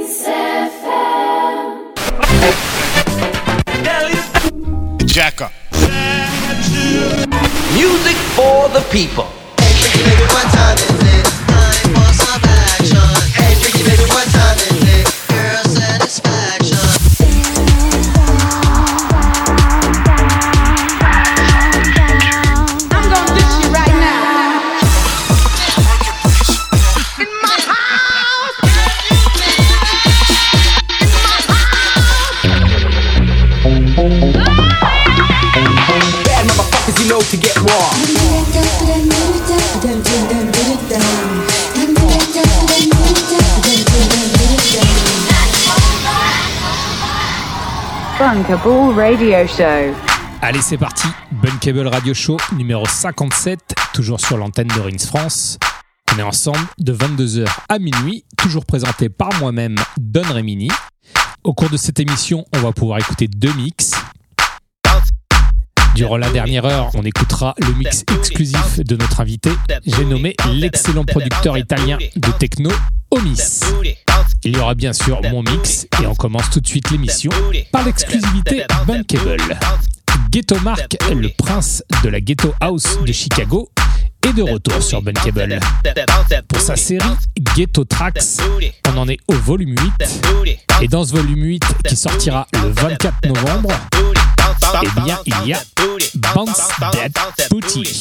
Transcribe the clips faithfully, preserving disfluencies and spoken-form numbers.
Jacker. Music for the people. Hey, freaky baby, what time is it? Time for some action. Hey, freaky baby, what time is it? Girl satisfaction. I'm gonna dish you right now. In my house. In my house. Bad motherfuckers, you know to get raw. Bunkable Radio Show. Allez, c'est parti. Bunkable Radio Show numéro cinquante-sept, toujours sur l'antenne de Rins France. On est ensemble de vingt-deux heures à minuit, toujours présenté par moi-même, Don Remini. Au cours de cette émission, on va pouvoir écouter deux mix. Durant la dernière heure, on écoutera le mix exclusif de notre invité. J'ai nommé l'excellent producteur italien de techno, Omis. Il y aura bien sûr mon mix et on commence tout de suite l'émission par l'exclusivité Bunkable. Ghetto Mark, le prince de la Ghetto House de Chicago, est de retour sur Bunkable. Pour sa série Ghetto Tracks, on en est au volume huit. Et dans ce volume huit qui sortira le vingt-quatre novembre, eh bien, il y a Bounce That Booty.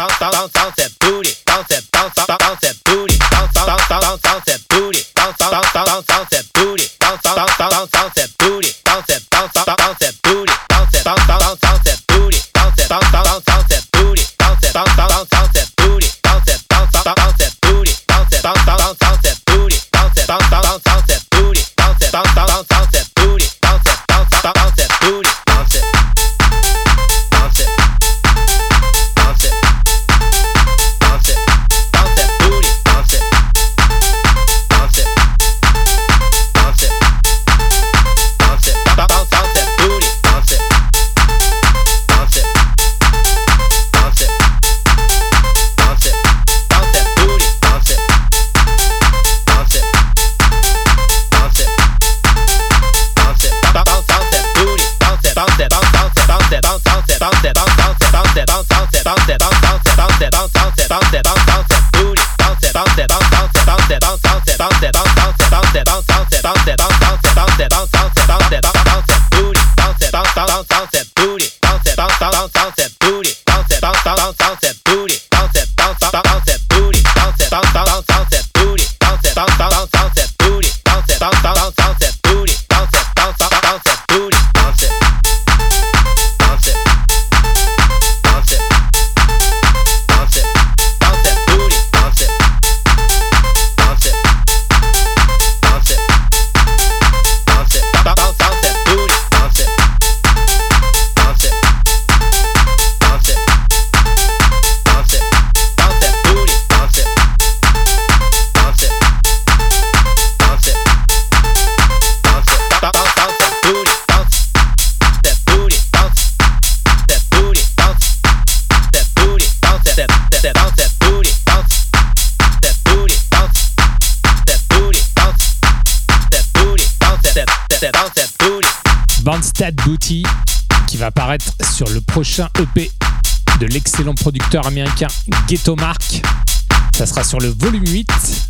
Bounce That Booty, qui va apparaître sur le prochain E P de l'excellent producteur américain Ghetto Mark. Ça sera sur le volume huit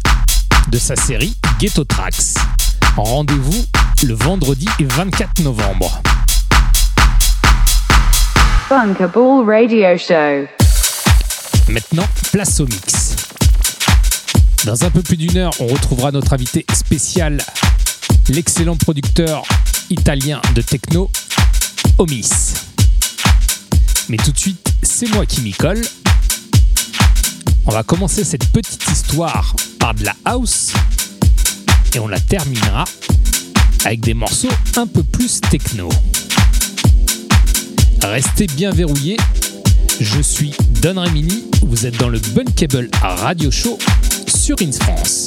de sa série Ghetto Tracks. Rendez-vous le vendredi vingt-quatre novembre. Bunkable Radio Show. Maintenant, place au mix. Dans un peu plus d'une heure, on retrouvera notre invité spécial, l'excellent producteur italien de techno, Omis. Mais tout de suite, c'est moi qui m'y colle. On va commencer cette petite histoire par de la house et on la terminera avec des morceaux un peu plus techno. Restez bien verrouillés. Je suis Don Remini, vous êtes dans le Bunkable Radio Show sur Rins France.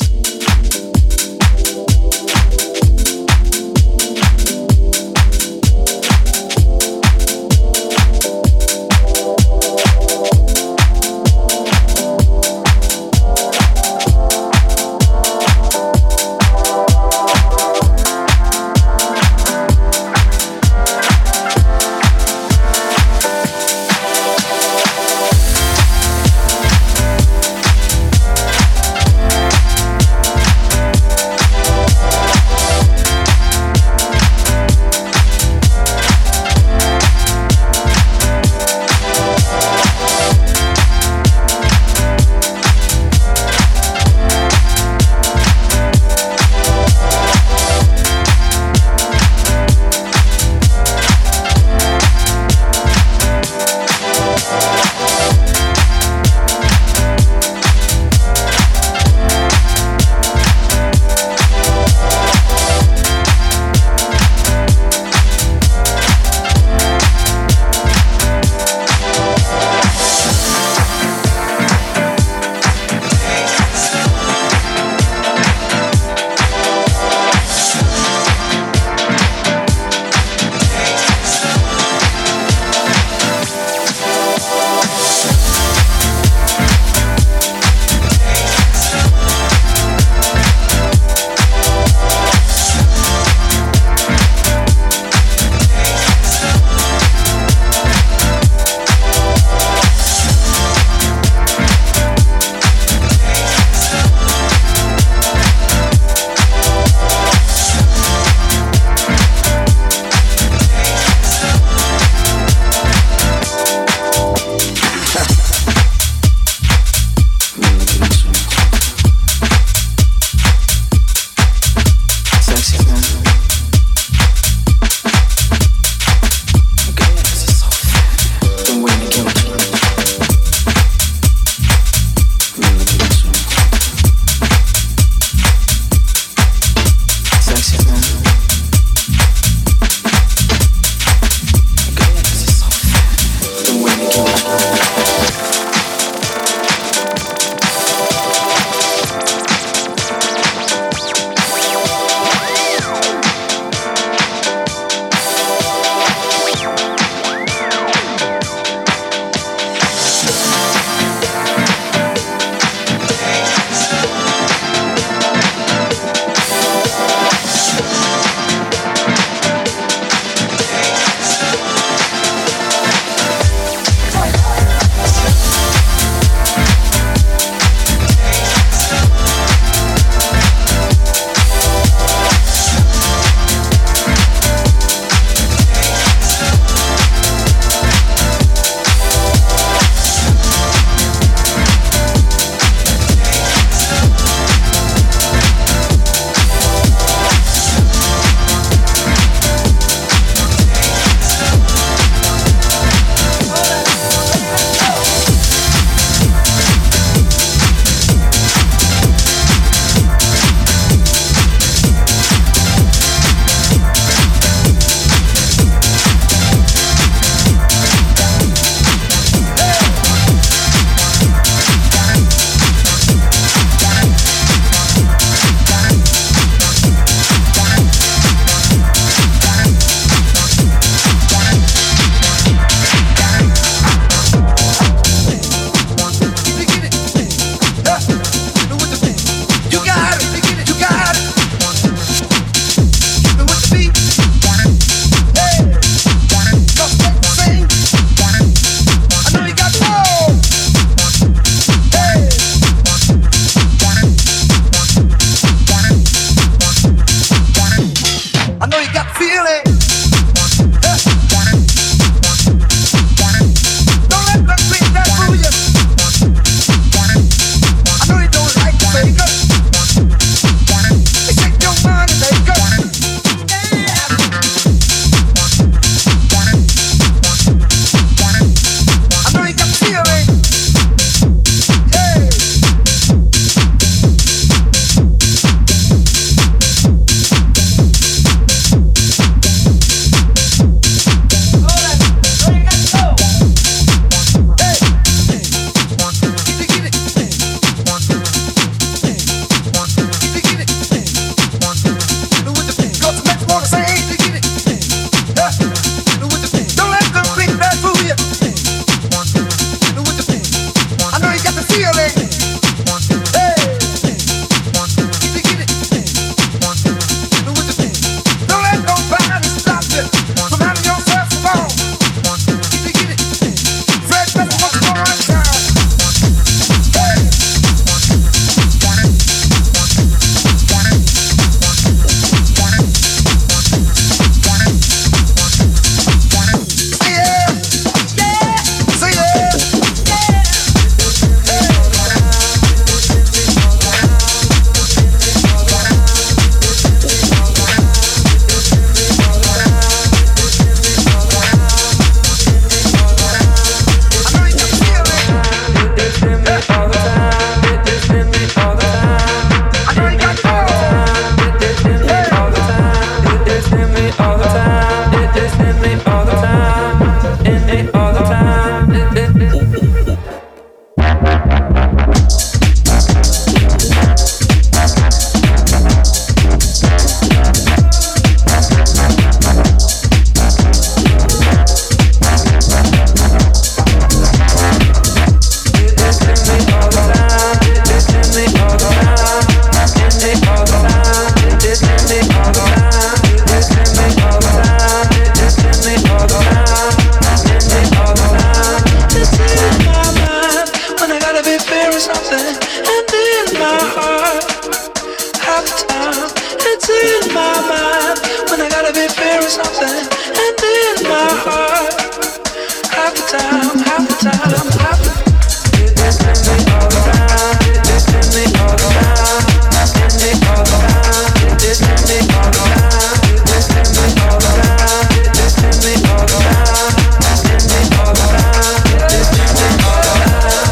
in my mind when I gotta be fearing something, and in my heart, half the time, half the time, half the time. It's in me all around, it's in me all around, it's in me all around, it's in me all around, it's in me all around, it's in me all around, it's in me all around, it's in me all around.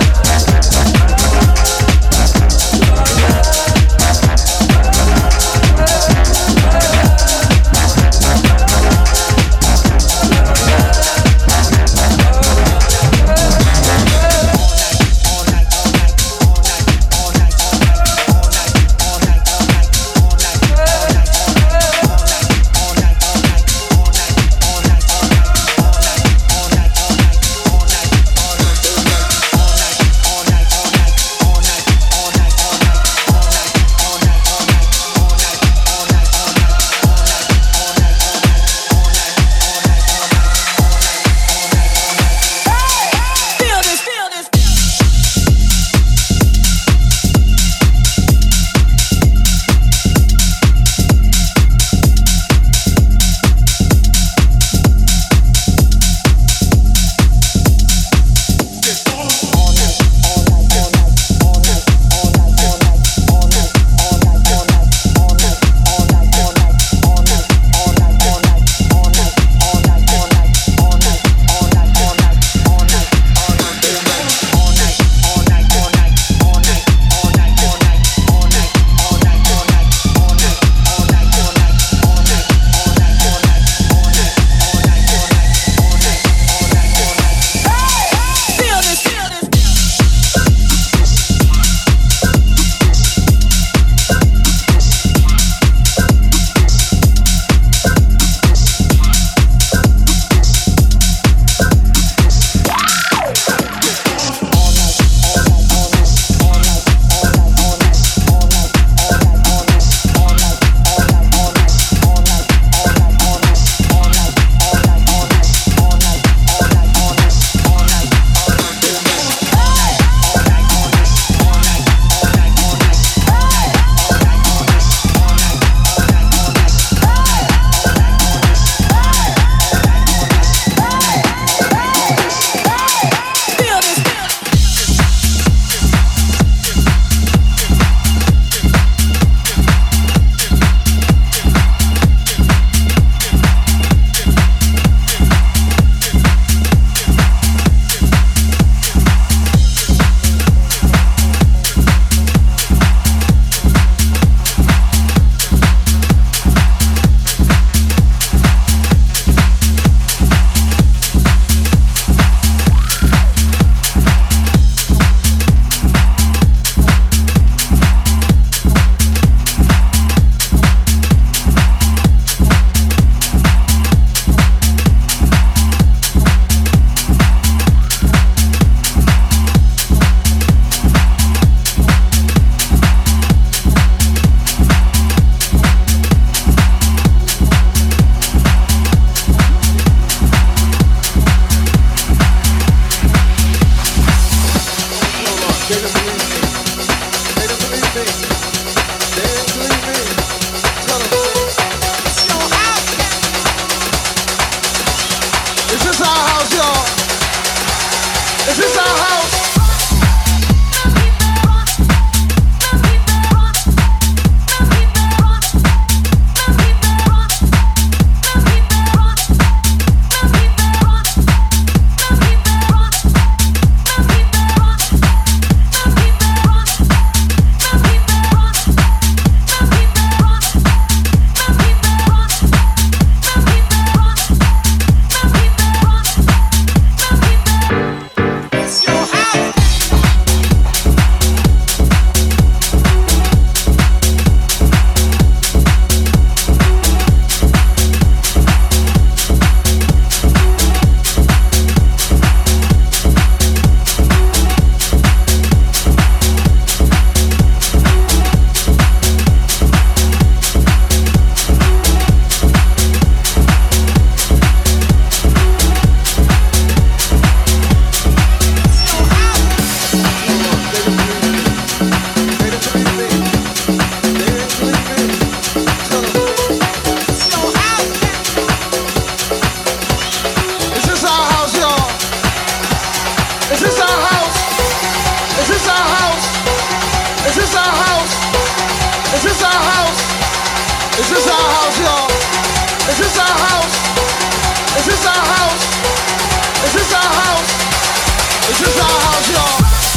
this our house, y'all? Is this our house? Is this our house? Is this our house? Is this our house, y'all?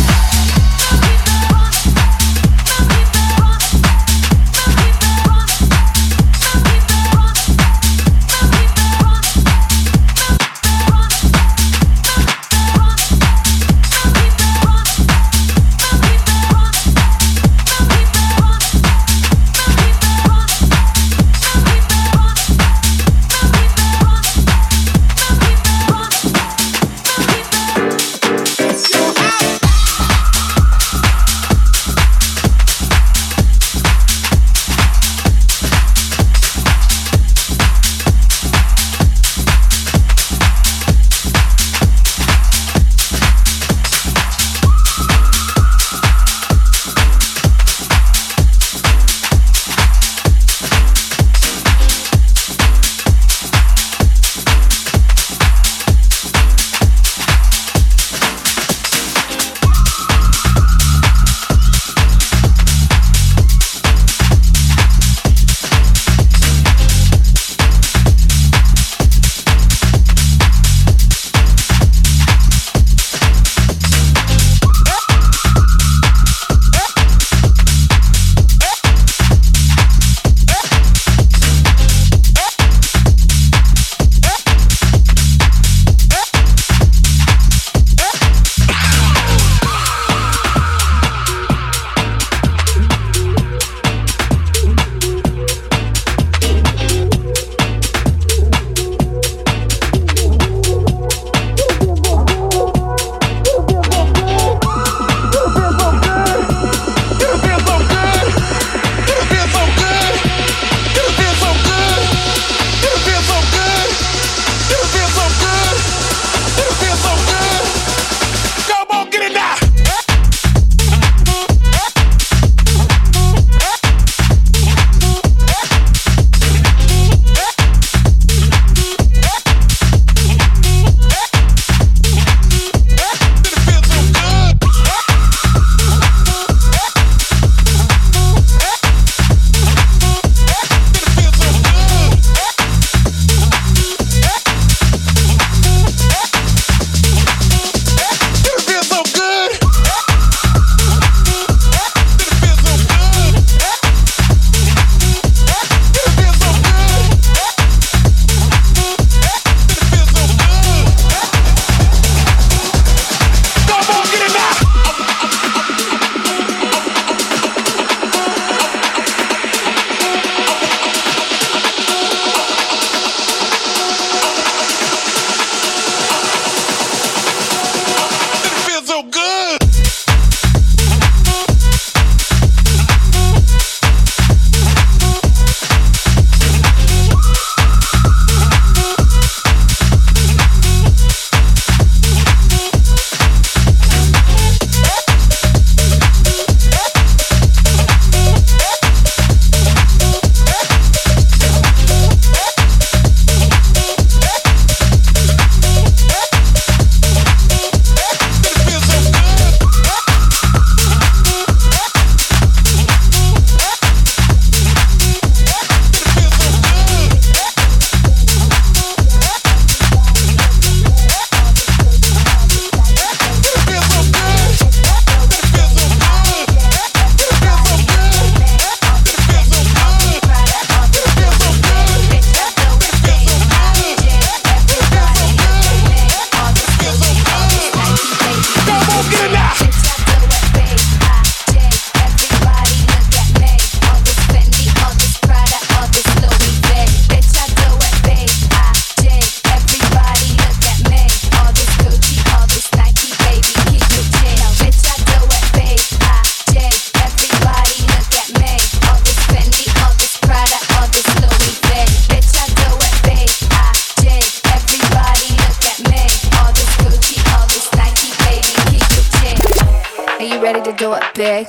do it big.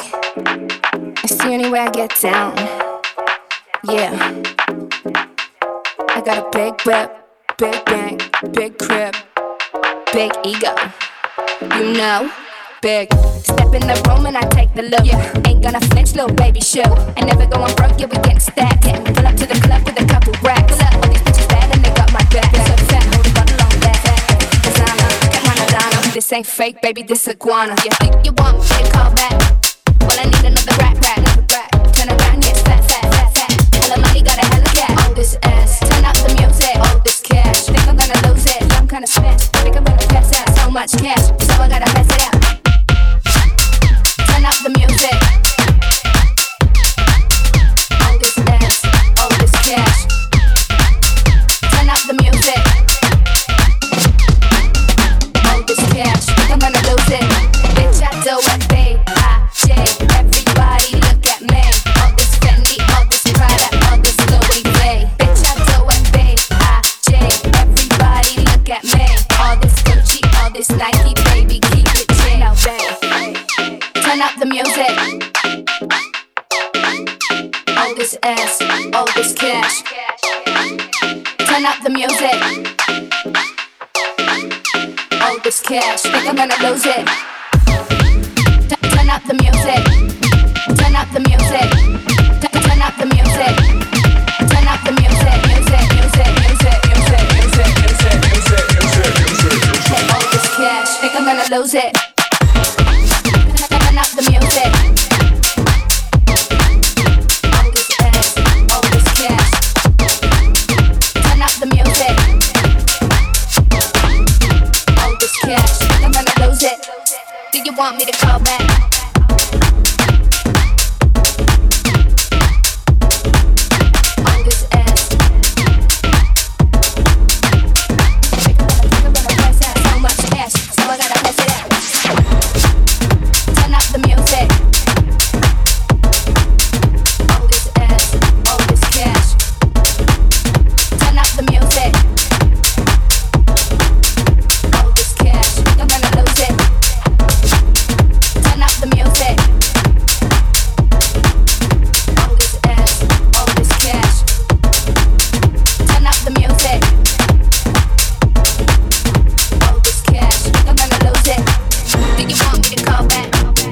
It's the only way I get down. Yeah. I got a big whip, big bank, big crib, big ego. You know, big. Step in the room and I take the look. Yeah. Ain't gonna flinch, little baby, show. I never going broke, yeah, we getting stacked. Yeah. Pull up to the club with a couple racks. Pull up, all these bitches bad and they got my back. So fat, hold a bottle on that. Designer, Canadana. This ain't fake, baby, this iguana. You think you want me to call back? Well, I need another rap, rap, another rap. Turn around, yeah, fat, fat, fat, fat. Hella money, got a hella cat. All this ass, turn up the music. All this cash, think I'm gonna lose it. Yeah, I'm kinda spent, think I'm gonna pass out. So much cash, so I gotta pass it out. Turn up the music. All this ass, all this cash. Turn up the music. All this cash, think I'm gonna lose it. Bitch, I do it, babe. I, J, everybody look at me. All this Fendi, all this Prada, all this Louis V. Bitch, I do it, babe. I, J, everybody look at me. All this Gucci, all this Nike, baby, keep it chill. Now, babe, turn up the music. All this ass, all this cash. Turn up the music. All this cash, think I'm gonna lose it. T- turn up the music. Turn up the music. T- turn up the music. Turn up the music. Music, music, music, music, music, music, music, music, music, music. All this cash, think I'm gonna lose it. Turn up the music. All this ass, all this cash. Turn up the music. All this cash, think I'm gonna lose it. Do you want me to call back? All this ass. Think I'm gonna pass out so much cash, so I gotta pass it out. Turn up the music. All this ass, all this cash. Turn up the music. All this cash, think I'm gonna lose it. Turn up the music. All this ass, all this cash. Turn up the music. All this cash, think I'm gonna lose it. Do you want me to call back?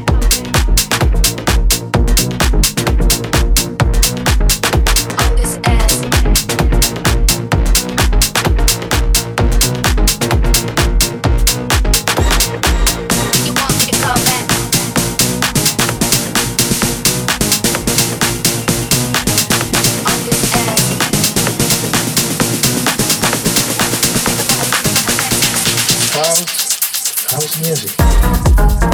All this ass. Do you want me to call back? All this ass. House, house music.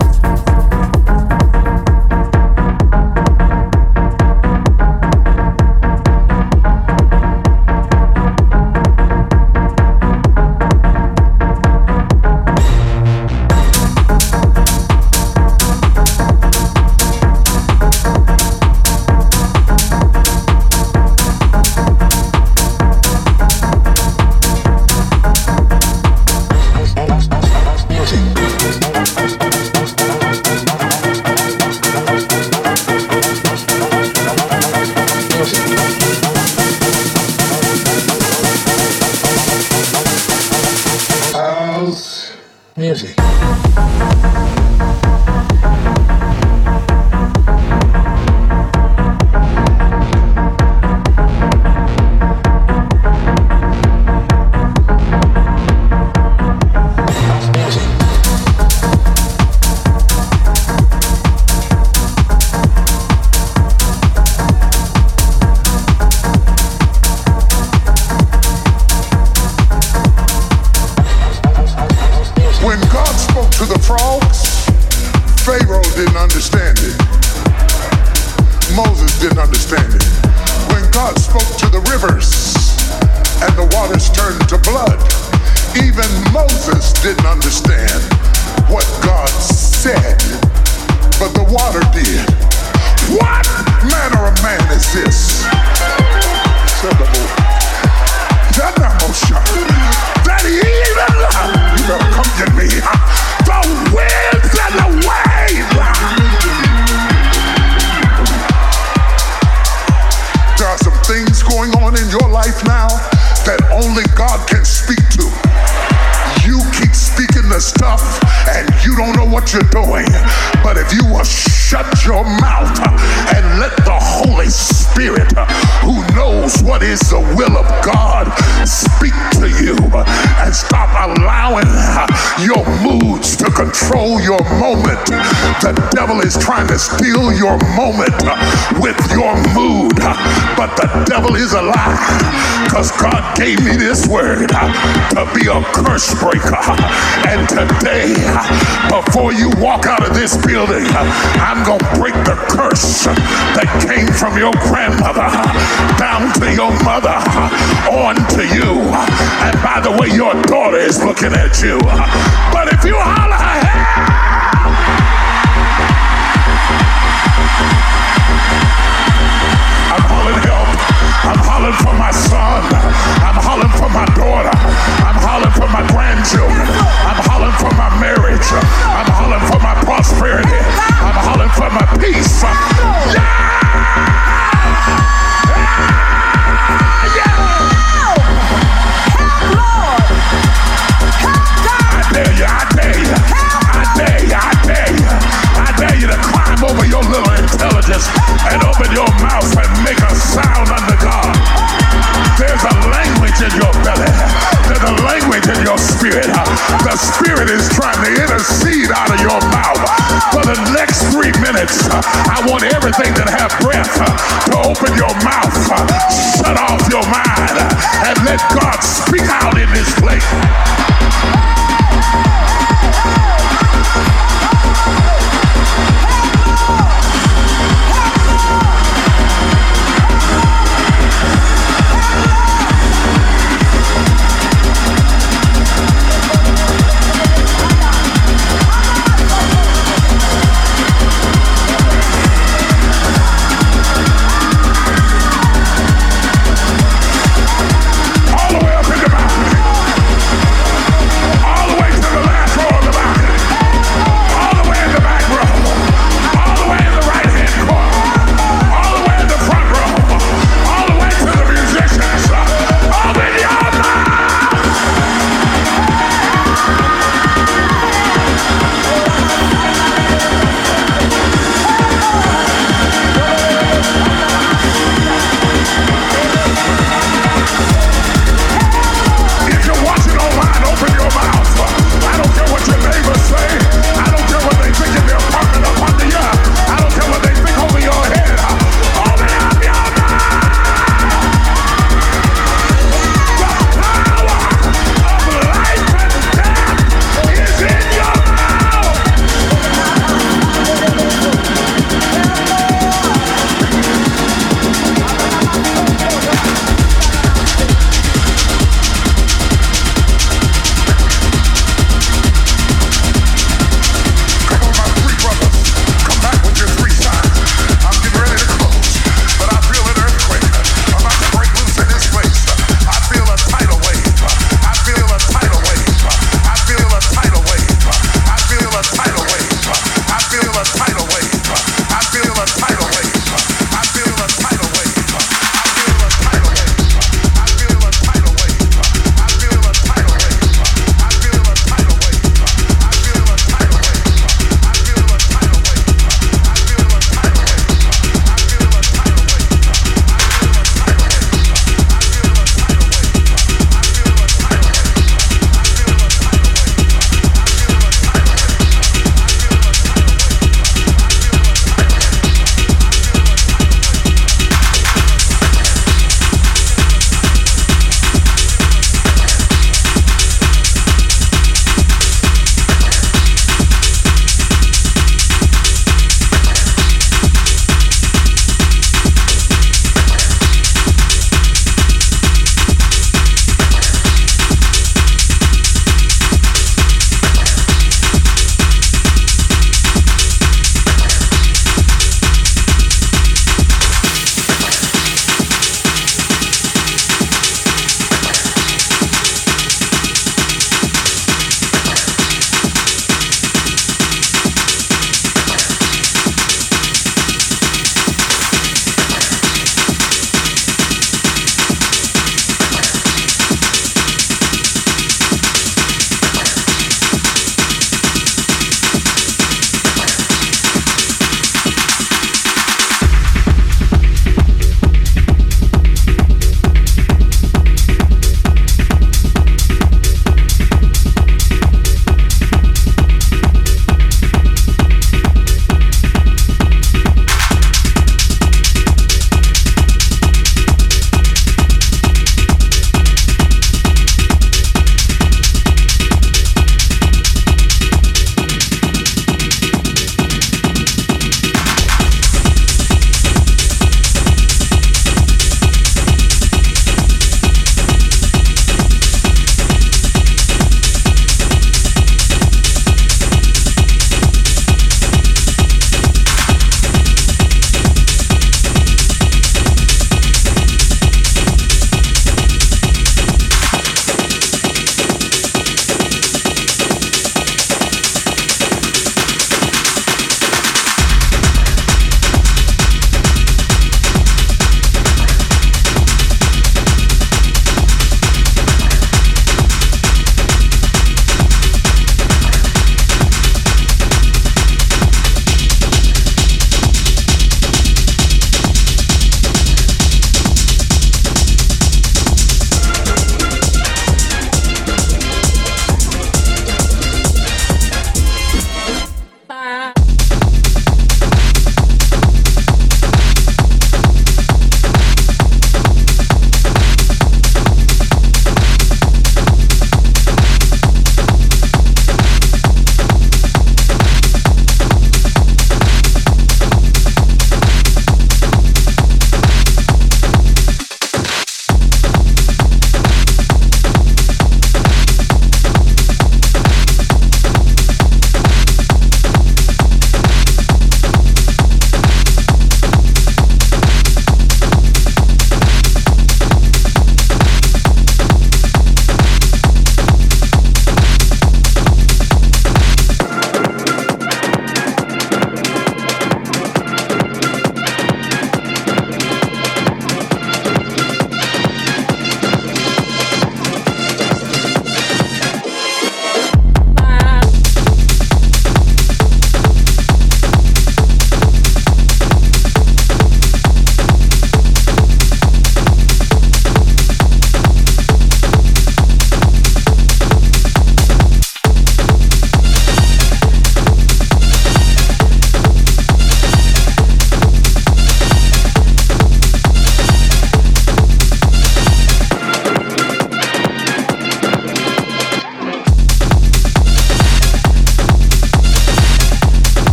House music. When God spoke to the frogs, Pharaoh didn't understand it. Moses didn't understand it. When God spoke to the rivers and the waters turned to blood, even Moses didn't understand what God said, but the water did. What manner of man is this? That even, you better come get me, the winds and the waves. There are some things going on in your life now that only God can speak to. You keep speaking the to stuff and you don't know what you're doing. But if you will shut your mouth and let the Holy Spirit, who knows what is the will of God, speak to you, and stop allowing your moods to control your moment. The devil is trying to steal your moment with your mood, but the devil is a lie, because God gave me this word to be a curse breaker. And today, before you walk out of this building, I'm going to break the curse that came from your grandmother down to your mother on to you. And by the way, your daughter is looking at you. But if you holler, hey! I'm hollering help. I'm hollering for my son. I'm hollering for my daughter. I'm hollering for my grandchildren. I'm hollering for my marriage. I'm hollering for my prosperity. I'm hollering for my peace. Yeah! I dare you, I dare you. I dare you, I dare you. I dare you to climb over your little intelligence and open your mouth and make a sound unto God. There's a language in your belly. There's a language in your spirit. The Spirit is trying to intercede out of your mouth. For the next three minutes, I want everything that have breath to open your mouth, shut off your mind, and let God speak out in this place. All the way up in the mountain.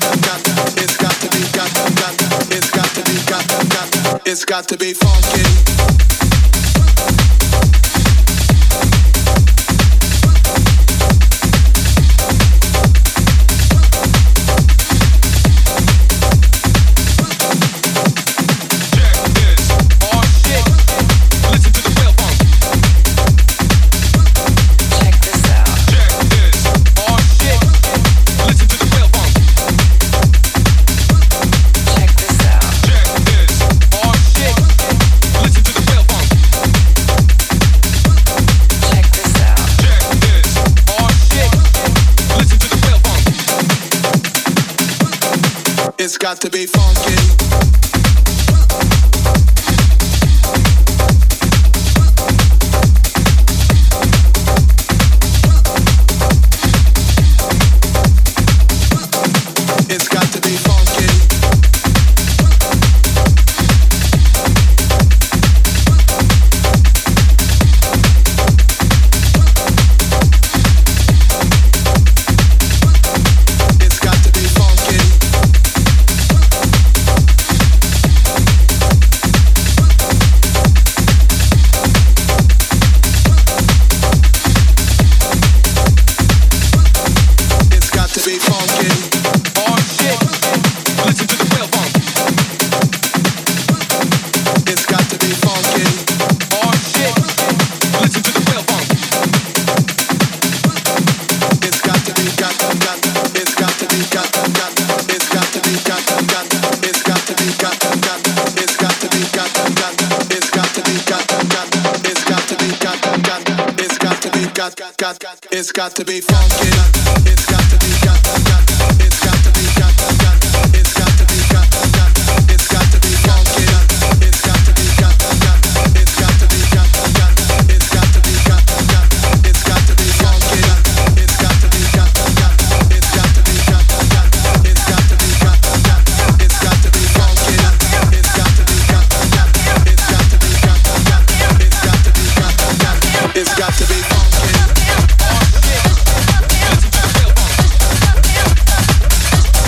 It's got to be funky. It's got to be funky. It's got to be funky. It's got to be funky. It's got to be funky. It's got to be got got. It's got to be got got. It's got to be got got. It's got to be funky. It's got to be got got. It's got to be got got. It's got to be got got. It's got to be funky. It's got to be got got. It's got to be got got. It's got to be got got. It's got to be funky. It's got to be got got. It's got to be got got. It's got to be got got. It's got to be funky.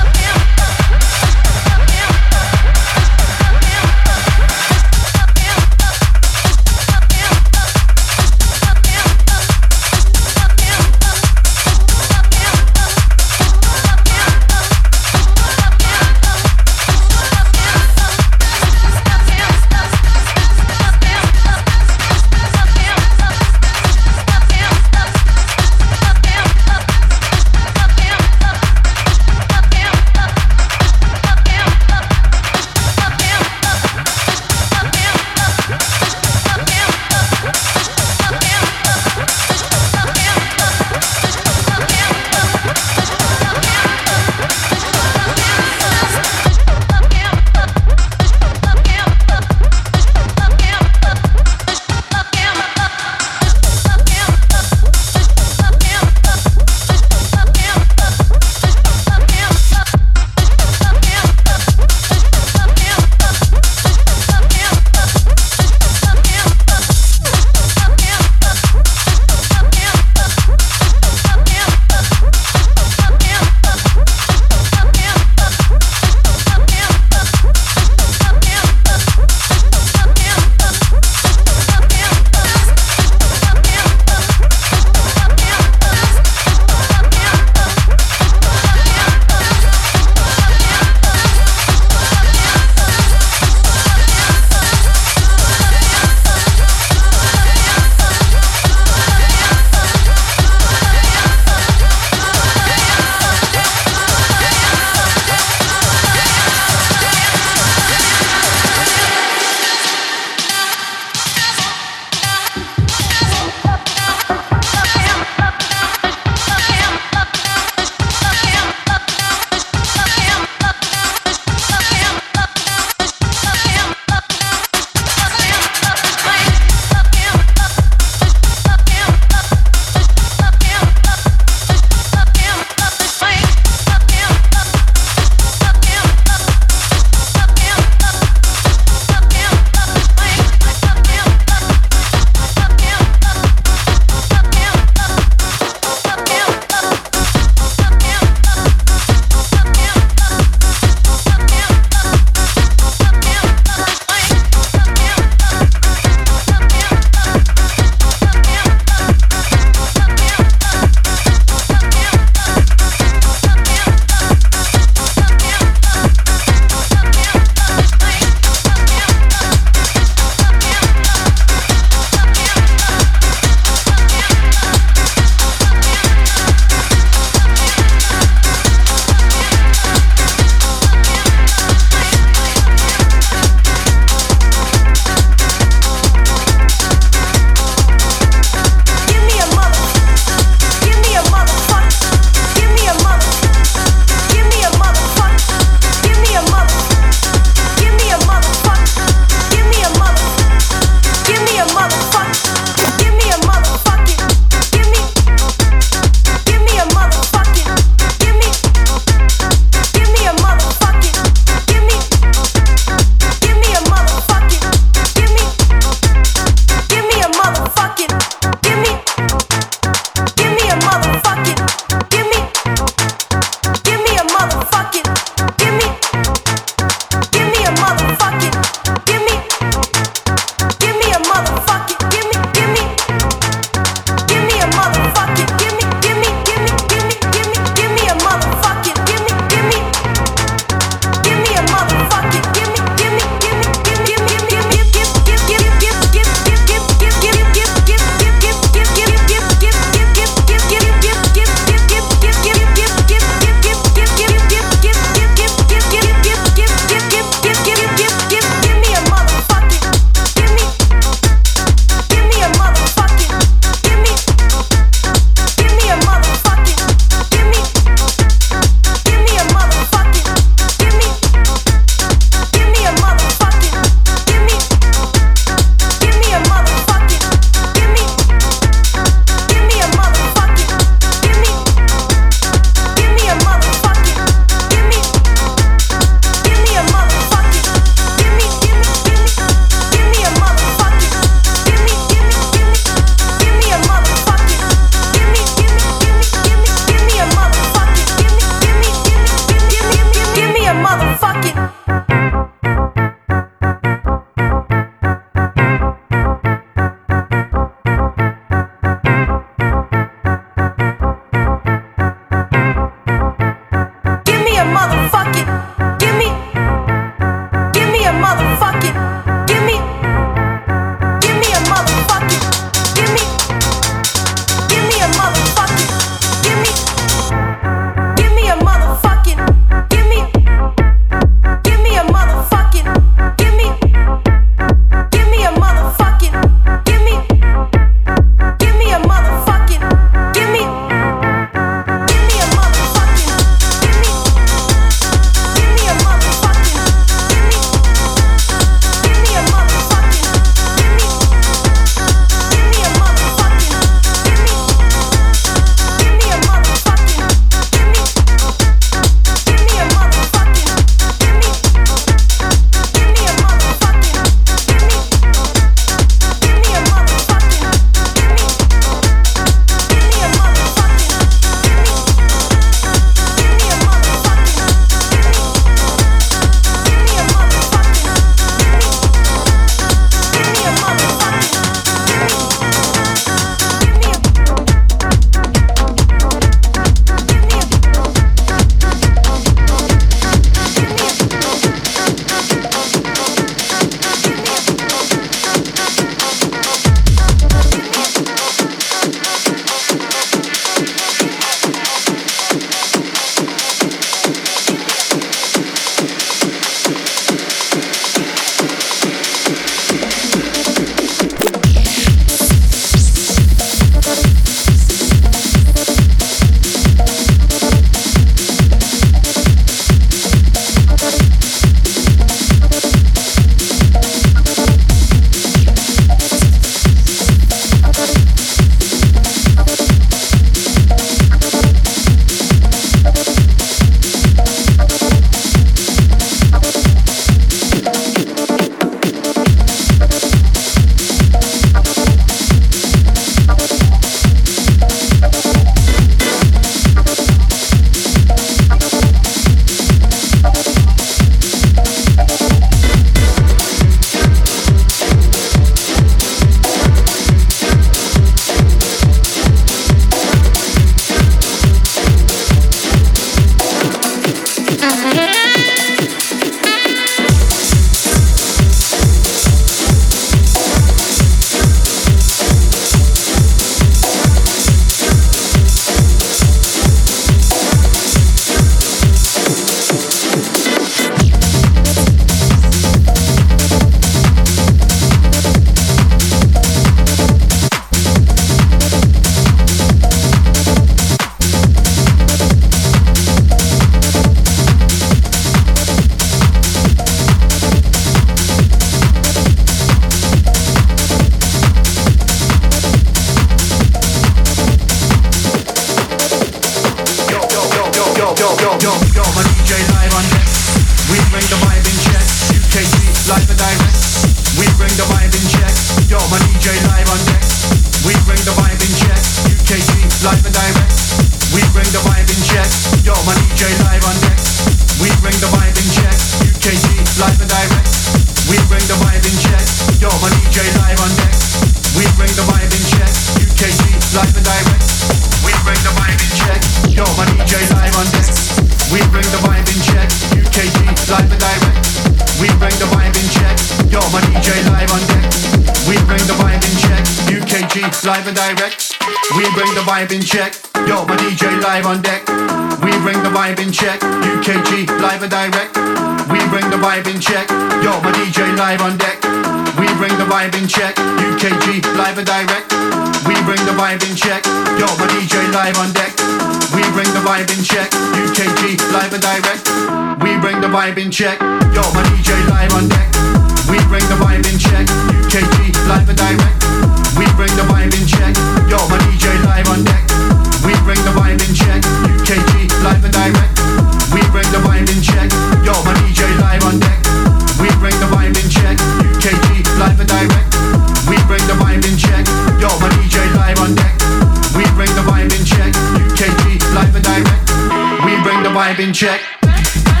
Live and direct, we bring the vibe in check. Yo, my D J live on deck. We bring the vibe in check. U K G live and direct, we bring the vibe in check. Yo, my D J live on deck. We bring the vibe in check. U K G live and direct, we bring the vibe in check. Yo, my D J live on deck. We bring the vibe in check. U K G live and direct, we bring the vibe in check. Yo, my D J live on deck. We bring the vibe in check. U K G live and direct, we bring the vibe in check. Yo, my D J live on deck. We bring the vibe in check. U K G live and direct, we bring the vibe in check. Yo, my D J live on deck. We bring the vibe in check. U K G live and direct, we bring the vibe in check. Yo, my D J live on deck. We bring the vibe in check. U K G live and direct, we bring the vibe in check.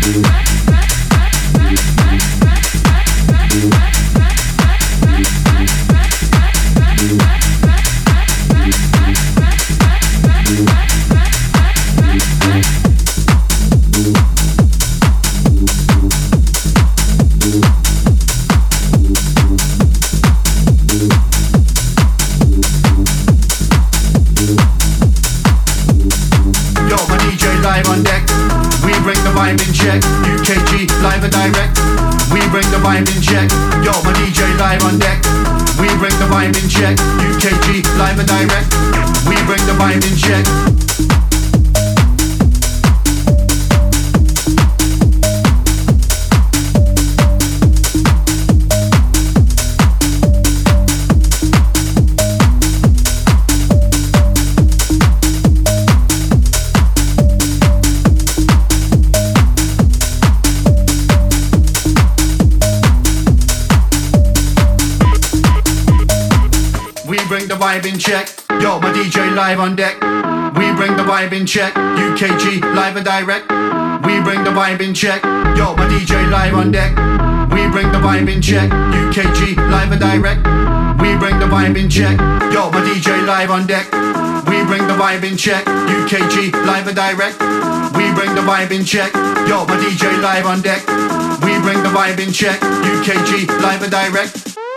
On deck, we bring the vibe in check. U K G live and direct. We bring the vibe in check. Yo, my D J live on deck. We bring the vibe in check. U K G live and direct. We bring the vibe in check. Yo, my D J live on deck. We bring the vibe in check. U K G live and direct. We bring the vibe in check. Yo, my D J live on deck. We bring the vibe in check. U K G live and direct.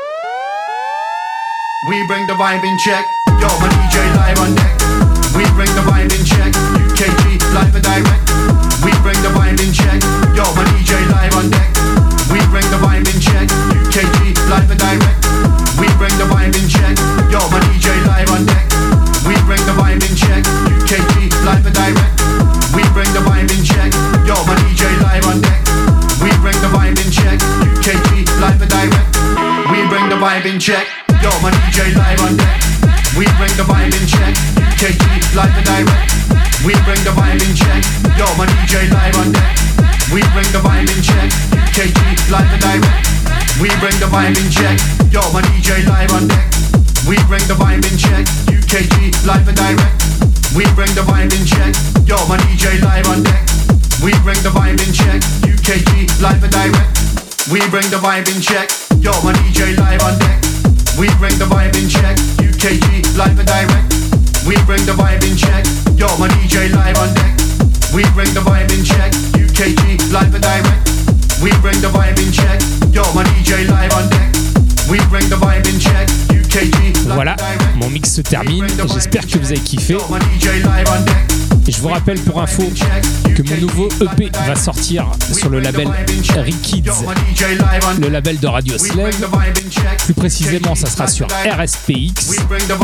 We bring the vibe in check. Yo, my D J live on deck. We bring the vibe in check. U K G live and direct. We bring the vibe in check. Yo, my D J live on deck. We bring the vibe in check. U K G live and direct. We bring the vibe in check. Yo, my D J live on deck. We bring the vibe in check. U K G live and direct. We bring the vibe in check. Yo, my D J live on deck. We bring the vibe in check. U K G live and direct. We bring the vibe in check. Yo, my D J live on deck. We bring the vibe in check. U K G live and direct. We bring the vibe in check. Yo, my D J live on deck. We bring the vibe in check. U K G live and direct. We bring the vibe in check. Yo, my D J live on deck. We bring the vibe in check. U K G live and direct. We bring the vibe in check. Yo, my D J live on deck. We bring the vibe in check. U K G live and direct. We bring the vibe in check. Yo, my D J live on deck. We bring the vibe in check. U K G live and direct. We bring the vibe in check. Yo, my D J live on deck. We bring the vibe in check. U K G live and direct. We bring the vibe in check. Yo, my D J live on deck. We bring the vibe in check. U K G. Voilà, mon mix se termine. J'espère que vous avez kiffé. Et je vous rappelle pour info que mon nouveau E P va sortir sur le label Rikids, le label de Radio Slave. Plus précisément, ça sera sur R S P X.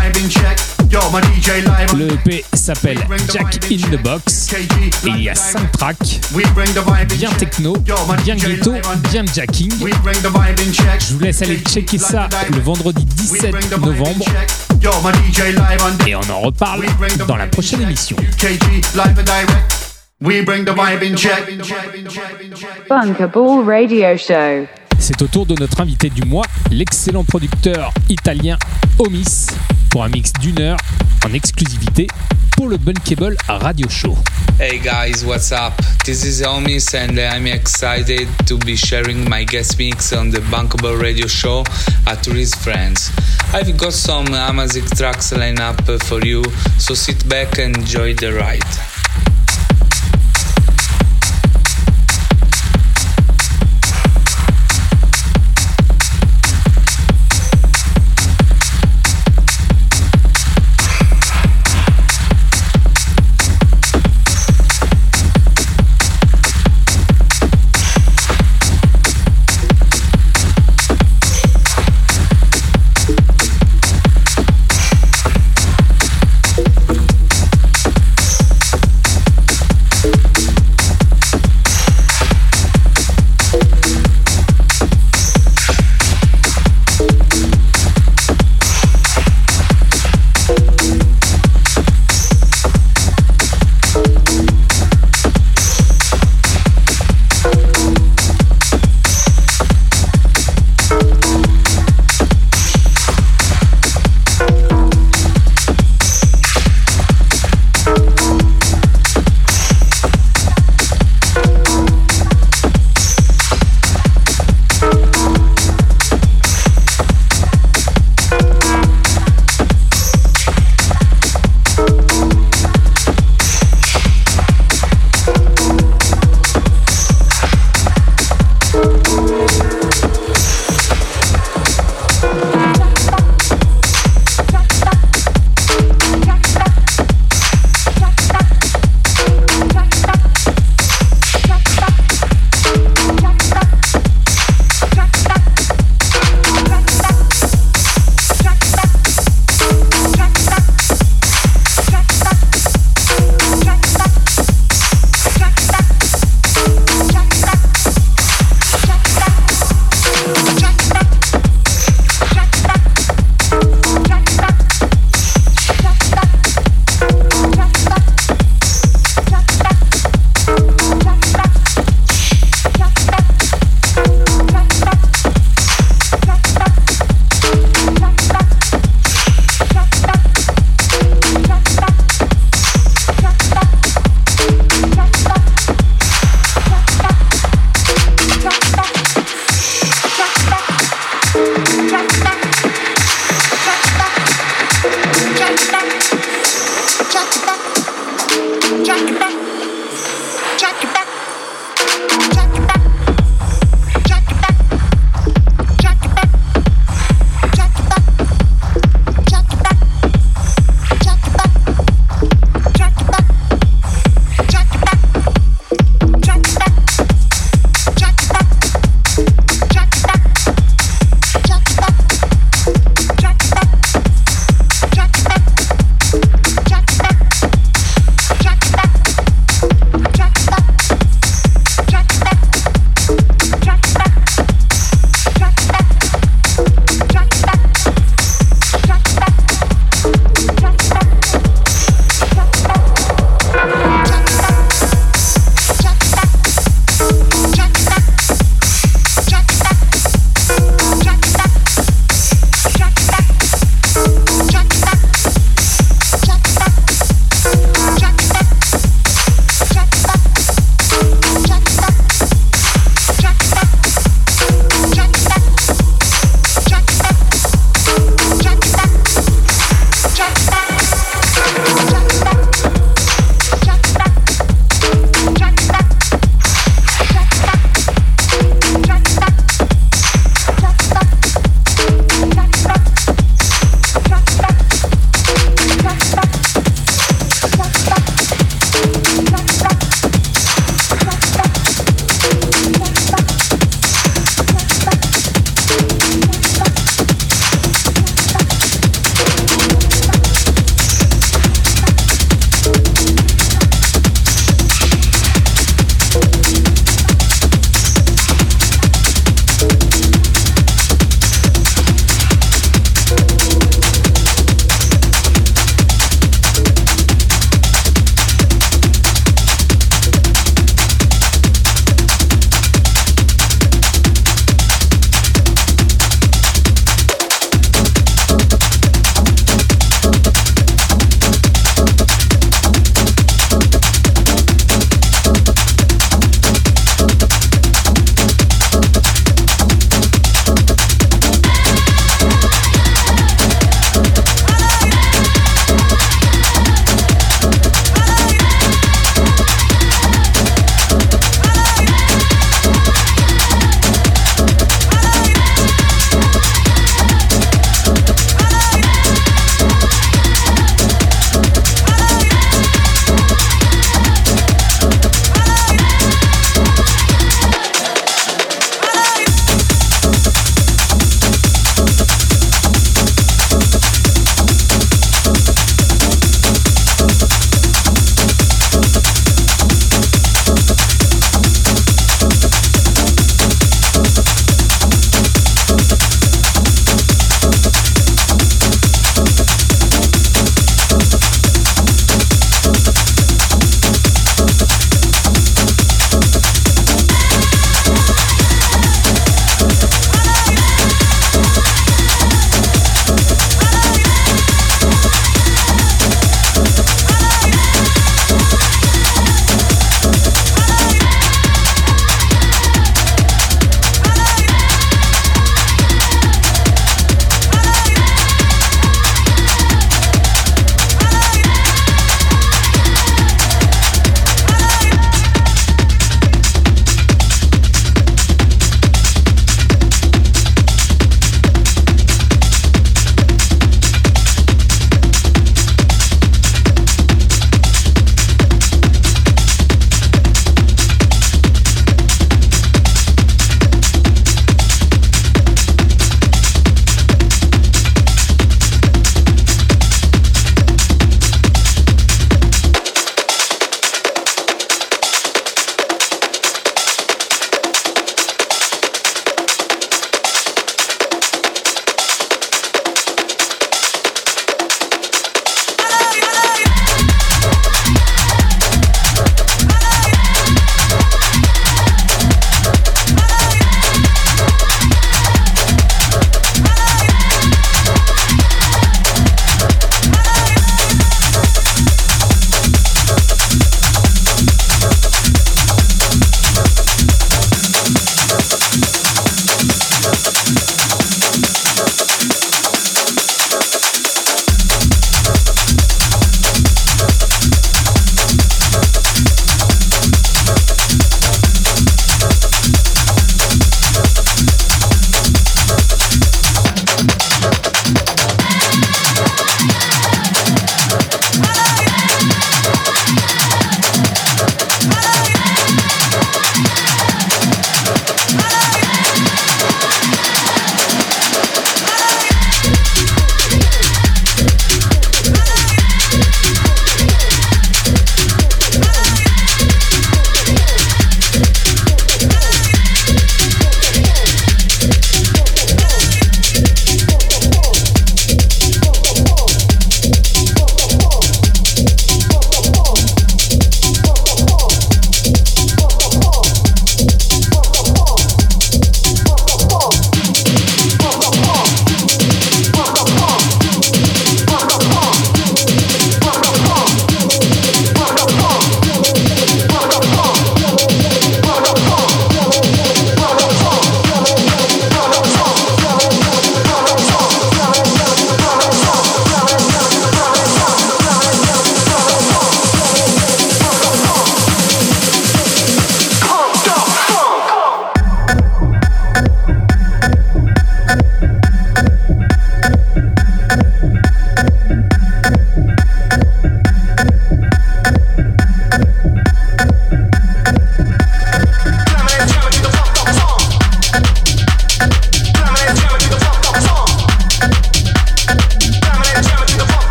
Le E P s'appelle Jack in the Box et il y a cinq tracks, bien techno, bien ghetto, bien jacking. Je vous laisse aller checker ça le vendredi dix-sept novembre et on en reparle dans la prochaine émission. Bunkable Radio Show. C'est au tour de notre invité du mois, l'excellent producteur italien Omis, pour un mix d'une heure en exclusivité pour le Bunkable Radio Show. Hey guys, what's up? This is Omis and I'm excited to be sharing my guest mix on the Bunkable Radio Show at Tourist Friends. I've got some amazing tracks lined up for you, so sit back and enjoy the ride. Jack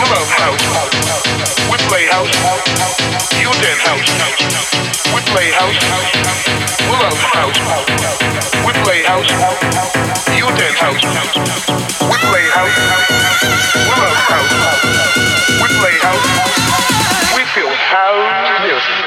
love house. We play house. You dance house. We play house. We love house. We play house. You dance house. We play house. We love house. We play house. We feel house music.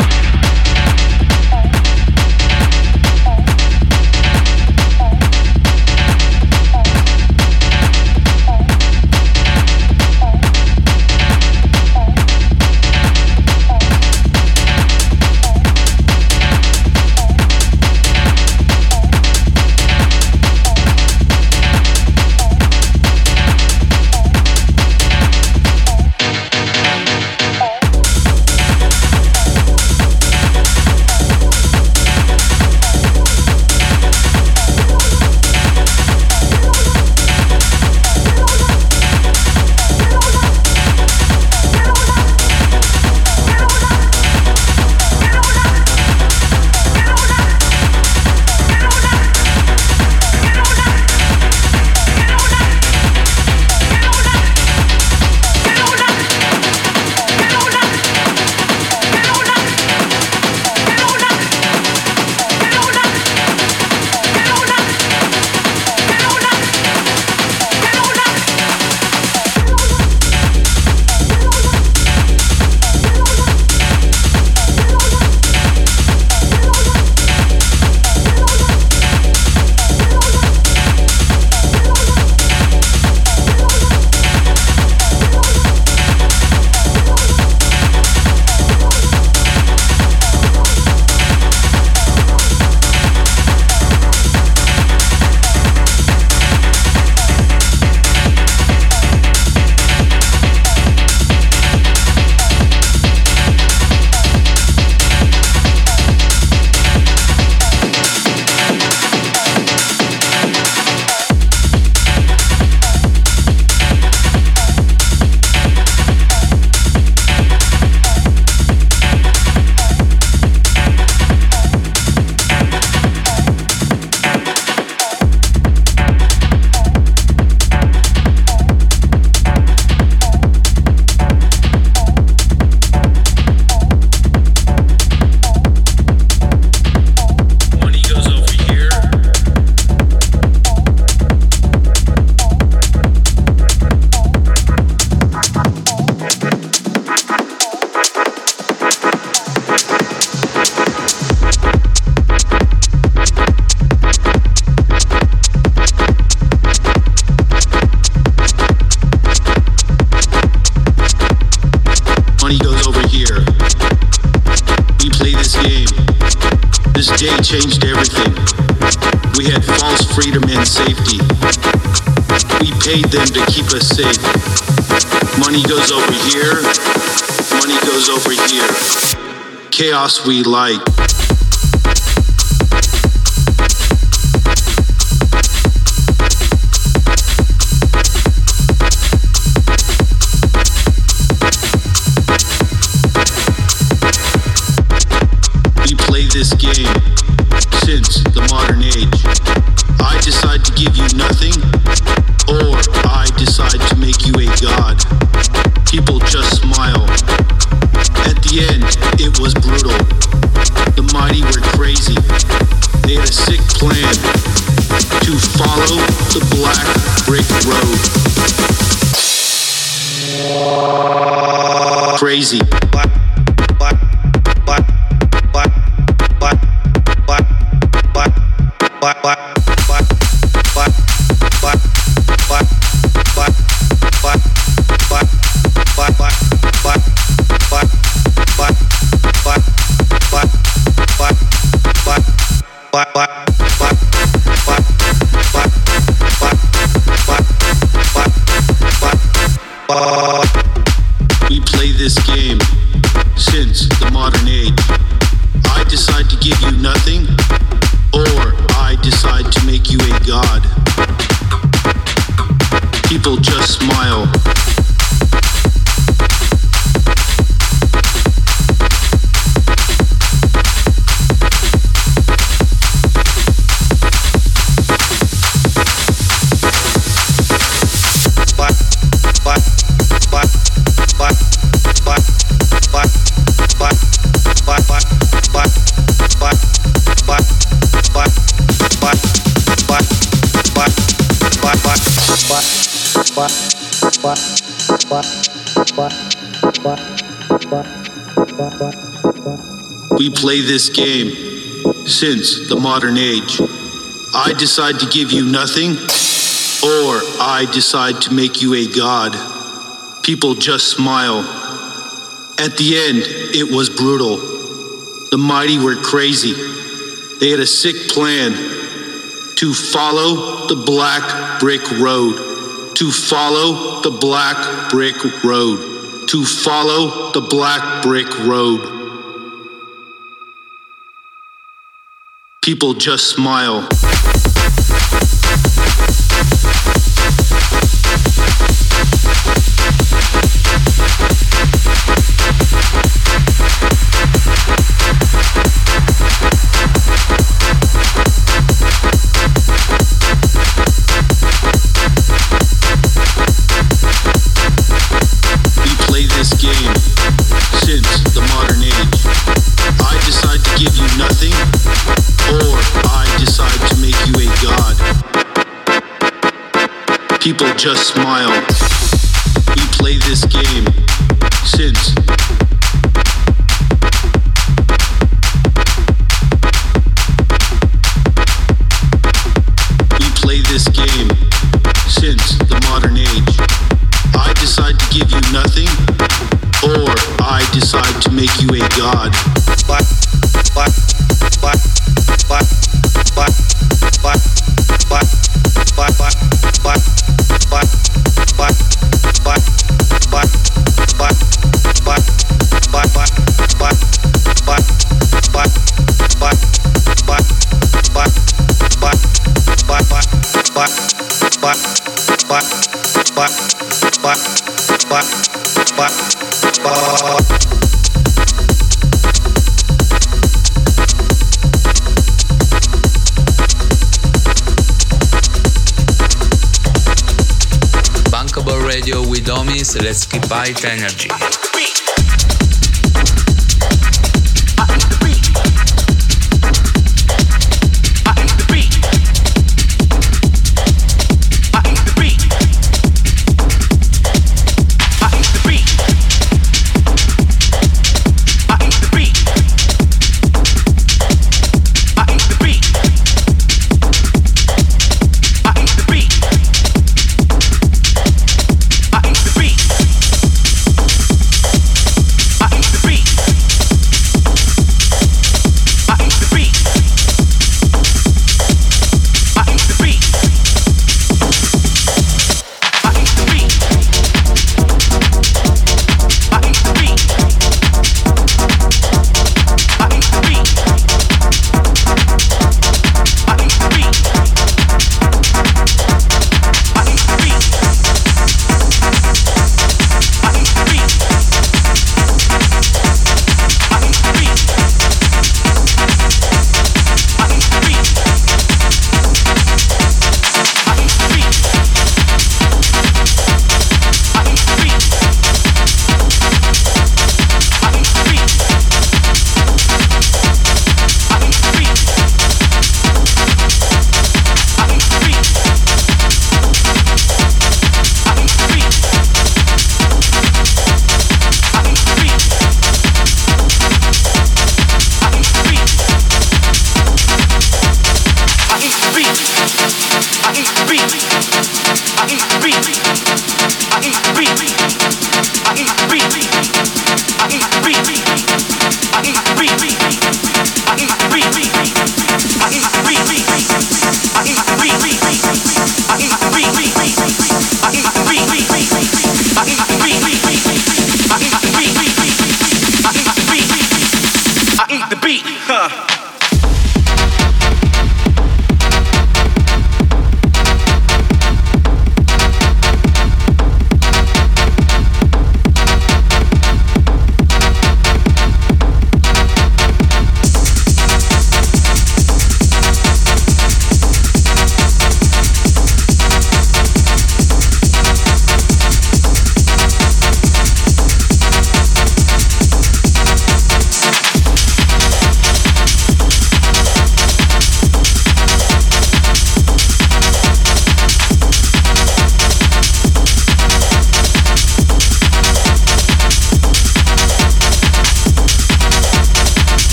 Changed everything. We had false freedom and safety. We paid them to keep us safe. Money goes over here. Money goes over here. Chaos we like. We play this game since the modern age. I decide to give you nothing, or I decide to make you a god. People just smile. At the end, it was brutal. The mighty were crazy. They had a sick plan to follow the black brick road. Crazy. Black, black, black, black, black. Black, black, black, black, black, black, black, black, black, black, black, black, black, black, black, black, black, black, black, black, we play this game since the modern age. I decide to give you nothing, or I decide to make you a god. People just smile. Black, black, black. We play this game since the modern age. I decide to give you nothing, or I decide to make you a god. People just smile. At the end, it was brutal. The mighty were crazy. They had a sick plan to follow the black brick road. To follow the black brick road. To follow the black brick road. People just smile. People just smile. We play this game since We play this game since the modern age. I decide to give you nothing, or I decide to make you a god. What? What? What? What? What? What? What? What? What? What? What, what, what, what, what, what, what, what, what, what, what, what, what, what, what, what, what, what, what, what. Radio with homies, let's keep high energy.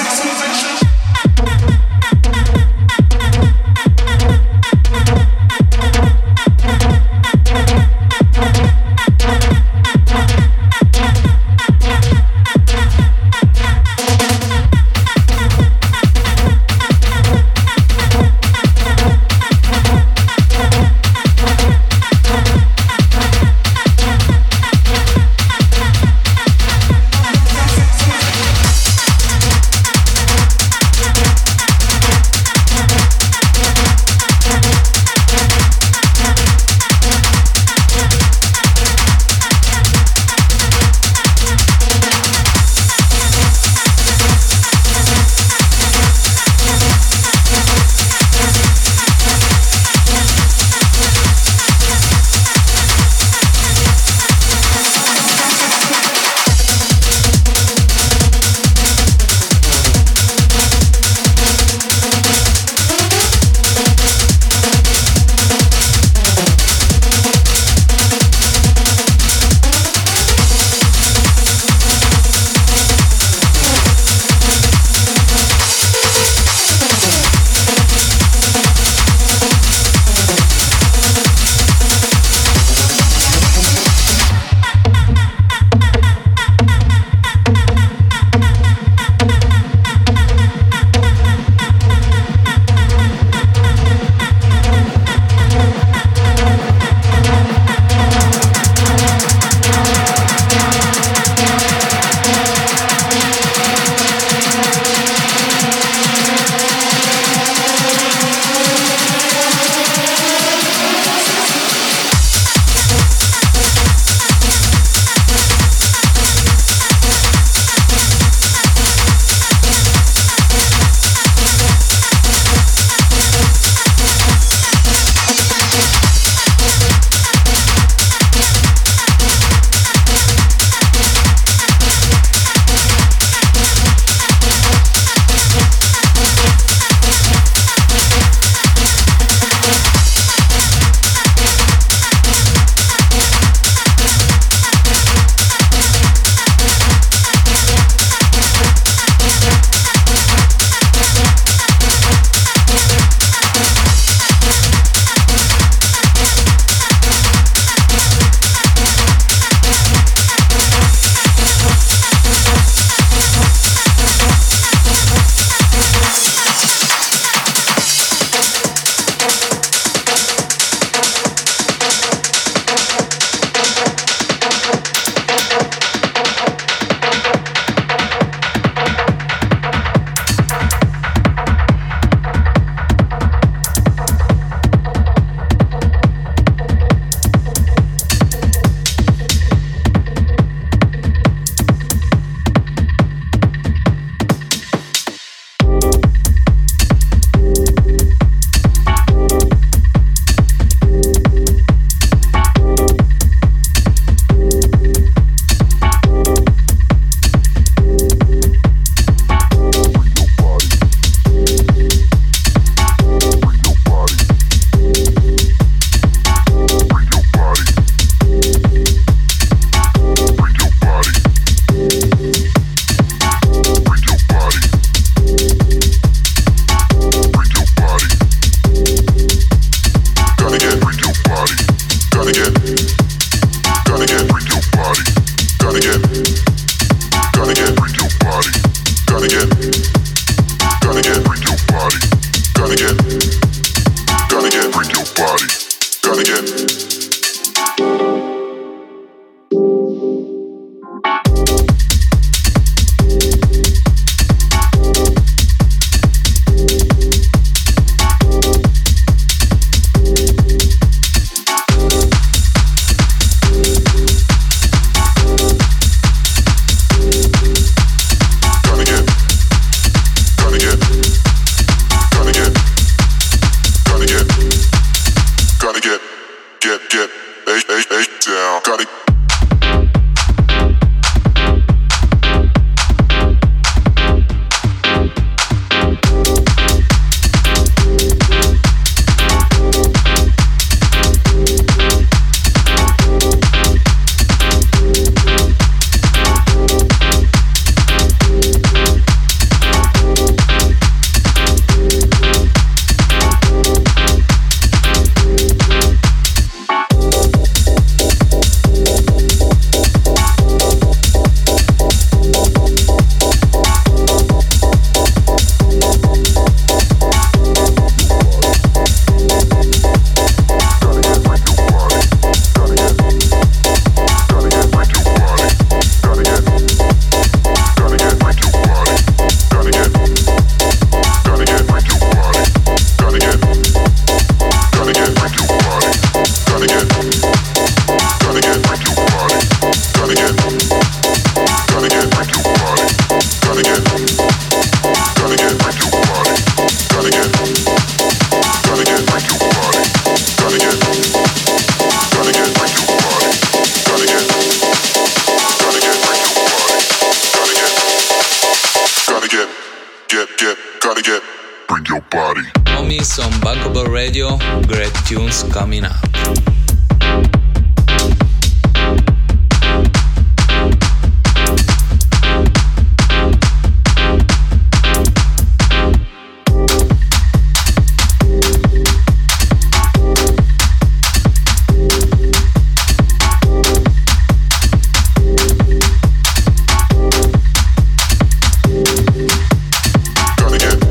Gotta bring your body. Homies on Bankable Radio, great tunes coming up.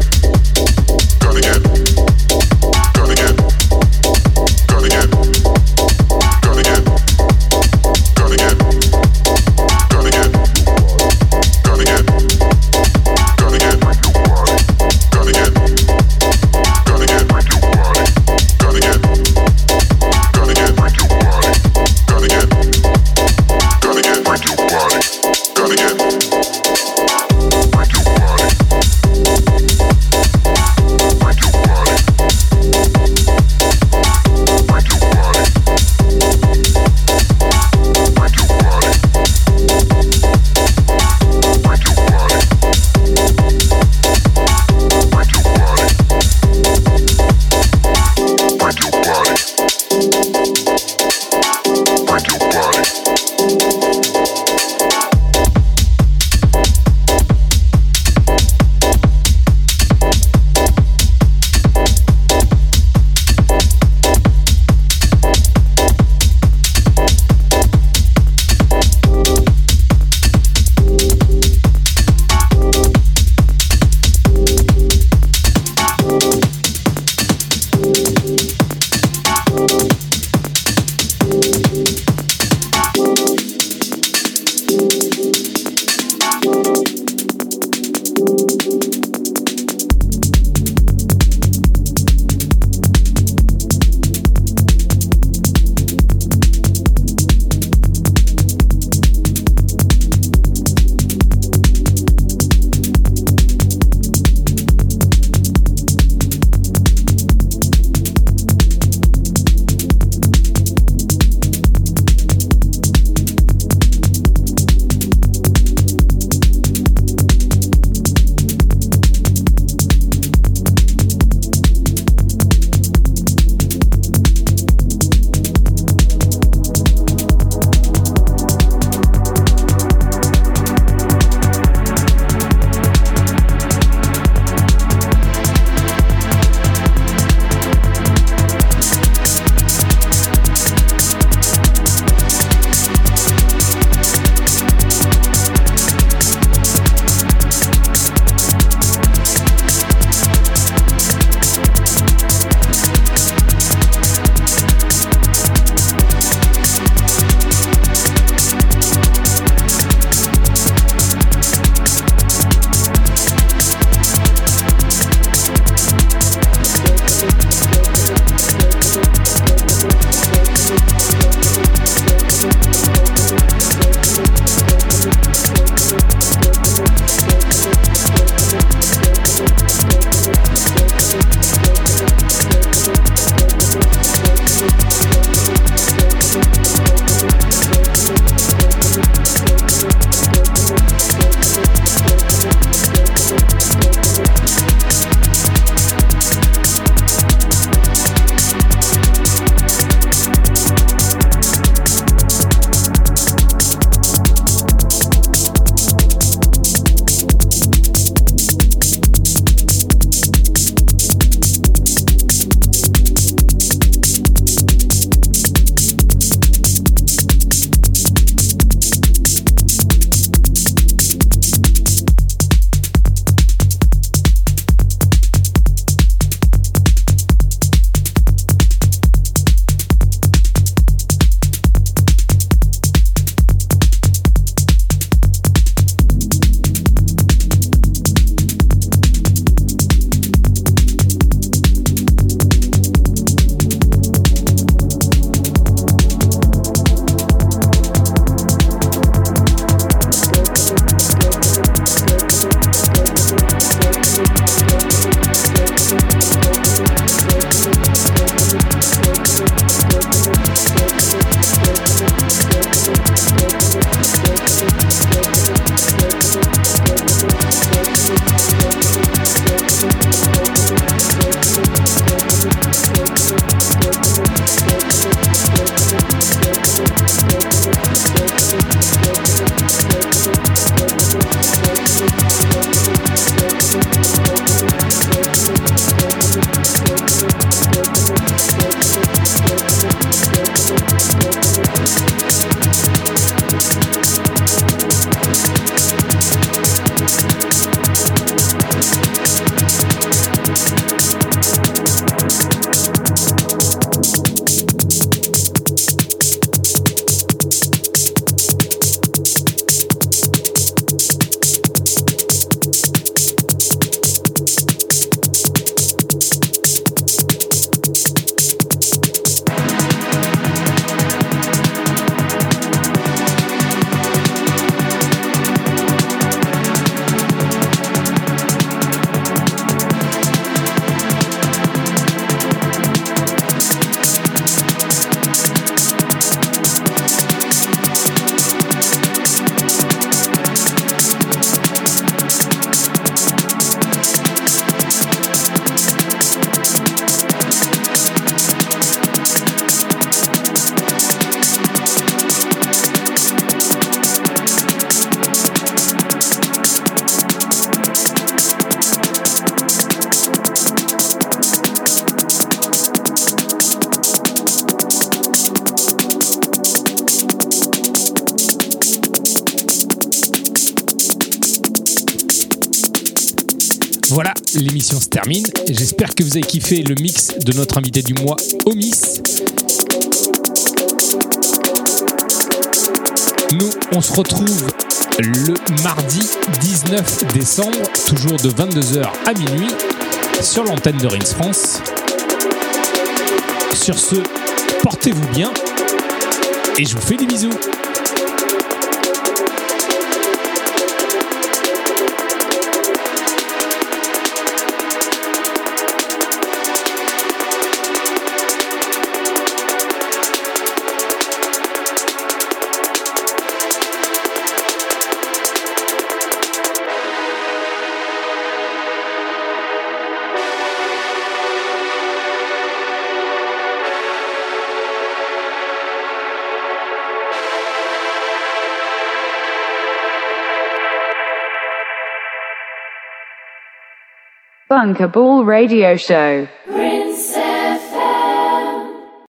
Gonna get, gonna get, gonna get. Voilà, l'émission se termine. J'espère que vous avez kiffé le mix de notre invité du mois, Omis. Nous, on se retrouve le mardi dix-neuf décembre, toujours de vingt-deux heures à minuit, sur l'antenne de Rings France. Sur ce, portez-vous bien et je vous fais des bisous. Bunker Ball Radio Show.